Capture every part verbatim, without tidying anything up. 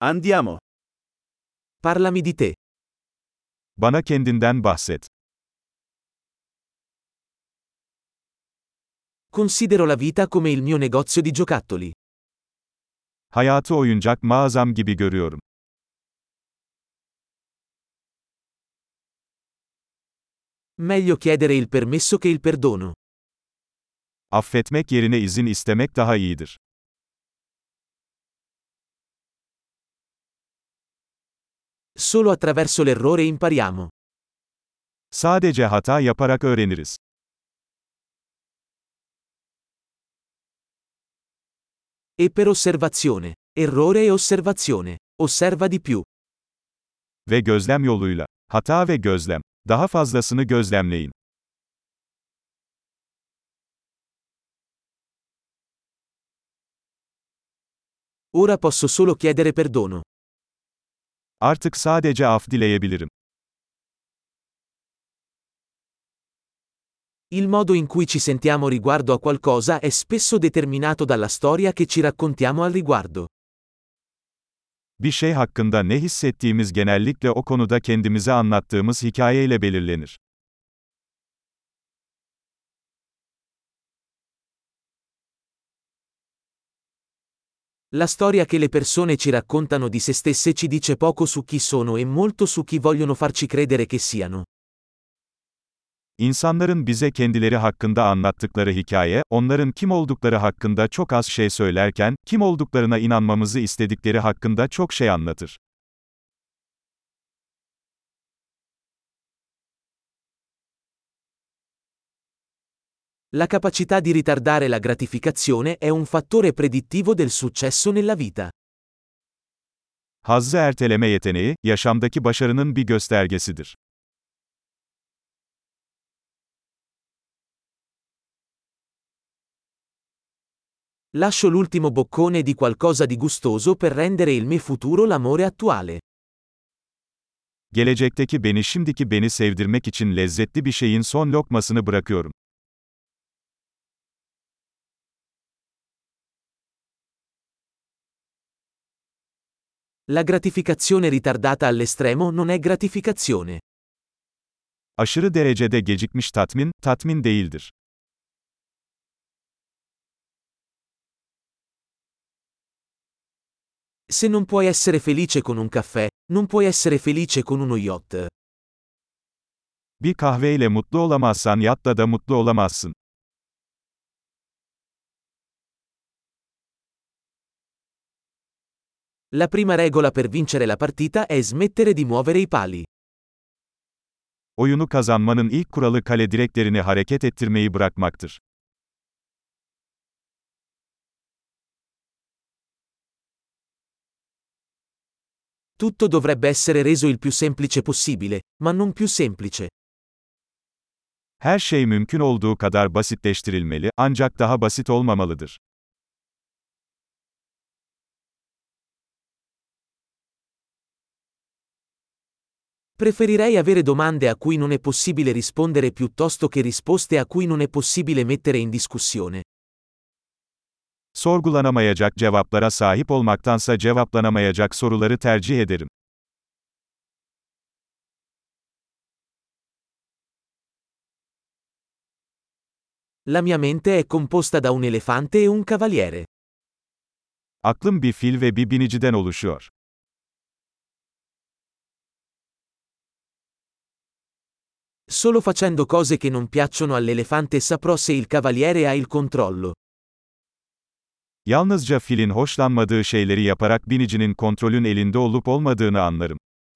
Andiamo. Parlami di te. Bana kendinden bahset. Considero la vita come il mio negozio di giocattoli. Hayatı oyuncak mağazam gibi görüyorum. Meglio chiedere il permesso che il perdono. Affetmek yerine izin istemek daha iyidir. Solo attraverso l'errore impariamo. Sadece hata yaparak öğreniriz. E per osservazione. Errore e osservazione. Osserva di più. Ve gözlem yoluyla. Hata ve gözlem. Daha fazlasını gözlemleyin. Ora posso solo chiedere perdono. Artık sadece af dileyebilirim. Il modo in cui ci sentiamo riguardo a qualcosa è spesso determinato dalla storia che ci raccontiamo al riguardo. Bir şey hakkında ne hissettiğimiz genellikle o konuda kendimize anlattığımız hikayeyle belirlenir. La storia che le persone ci raccontano di se stesse ci dice poco su chi sono e molto su chi vogliono farci credere che siano. İnsanların bize kendileri hakkında anlattıkları hikaye, onların kim oldukları hakkında çok az şey söylerken, kim olduklarına inanmamızı istedikleri hakkında çok şey anlatır. La capacità di ritardare la gratificazione è un fattore predittivo del successo nella vita. Hazzı erteleme yeteneği, yaşamdaki başarının bir göstergesidir. Lascio l'ultimo boccone di qualcosa di gustoso per rendere il mio futuro l'amore attuale. Gelecekteki beni şimdiki beni sevdirmek için lezzetli bir şeyin son lokmasını bırakıyorum. La gratificazione ritardata all'estremo non è gratificazione. Aşırı derecede gecikmiş tatmin, tatmin değildir. Se non puoi essere felice con un caffè, non puoi essere felice con uno yacht. Bir kahveyle mutlu olamazsan yatta da mutlu olamazsın. La prima regola per vincere la partita è smettere di muovere i pali. Oyunu kazanmanın ilk kuralı kale direklerini hareket ettirmeyi bırakmaktır. Tutto dovrebbe essere reso il più semplice possibile, ma non più semplice. Her şey mümkün olduğu kadar basitleştirilmeli, ancak daha basit olmamalıdır. Preferirei avere domande a cui non è possibile rispondere piuttosto che risposte a cui non è possibile mettere in discussione. Sorgulanamayacak cevaplara sahip olmaktansa cevaplanamayacak soruları tercih ederim. La mia mente è composta da un elefante e un cavaliere. Aklım bir fil ve bir biniciden oluşuyor. Solo facendo cose che non piacciono all'elefante saprò se il cavaliere ha il controllo. Yalnızca filin hoşlanmadığı şeyleri yaparak binicinin kontrolün elinde olup olmadığını anlarım.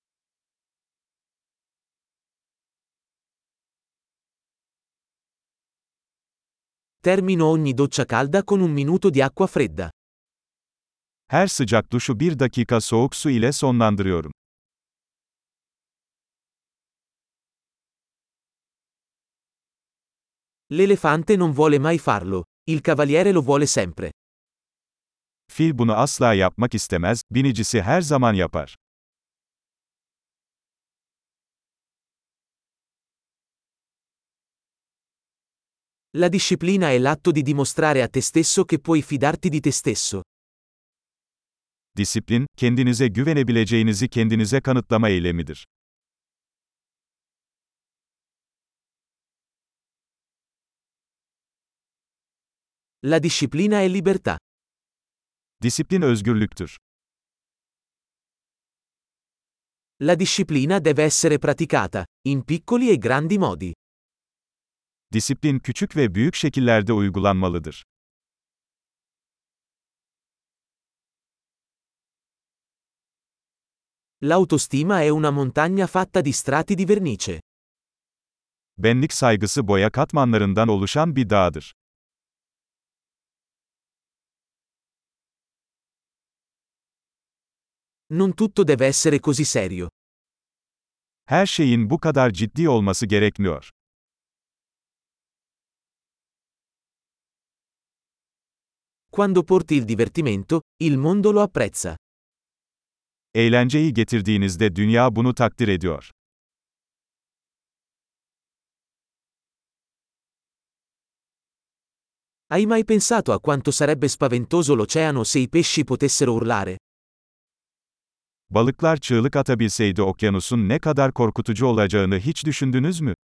Termino ogni doccia calda con un minuto di acqua fredda. Her sıcak duşu bir dakika soğuk su ile sonlandırıyorum. L'elefante non vuole mai farlo, il cavaliere lo vuole sempre. Fil bunu asla yapmak istemez, binicisi her zaman yapar. La disciplina è l'atto di dimostrare a te stesso che puoi fidarti di te stesso. Disiplin, kendinize güvenebileceğinizi kendinize kanıtlama eylemidir. La disciplina è libertà. Disiplin özgürlüktür. La disciplina deve essere praticata, in piccoli e grandi modi. Disiplin küçük ve büyük şekillerde uygulanmalıdır. L'autostima è una montagna fatta di strati di vernice. Benlik saygısı boya katmanlarından oluşan bir dağdır. Non tutto deve essere così serio. Her şeyin bu kadar ciddi olması gerekmiyor. Quando porti il divertimento, il mondo lo apprezza. Eğlenceyi getirdiğinizde dünya bunu takdir ediyor. Hai mai pensato a quanto sarebbe spaventoso l'oceano se i pesci potessero urlare? Balıklar çığlık atabilseydi okyanusun ne kadar korkutucu olacağını hiç düşündünüz mü?